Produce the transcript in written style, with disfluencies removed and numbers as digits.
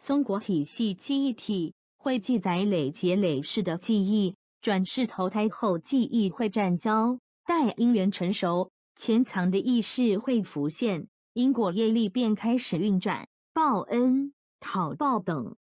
松果体系记忆体会记载累劫累世的记忆，转世投胎后记忆会暂交，待因缘成熟，潜藏的意识会浮现，因果业力便开始运转，报恩、讨报等。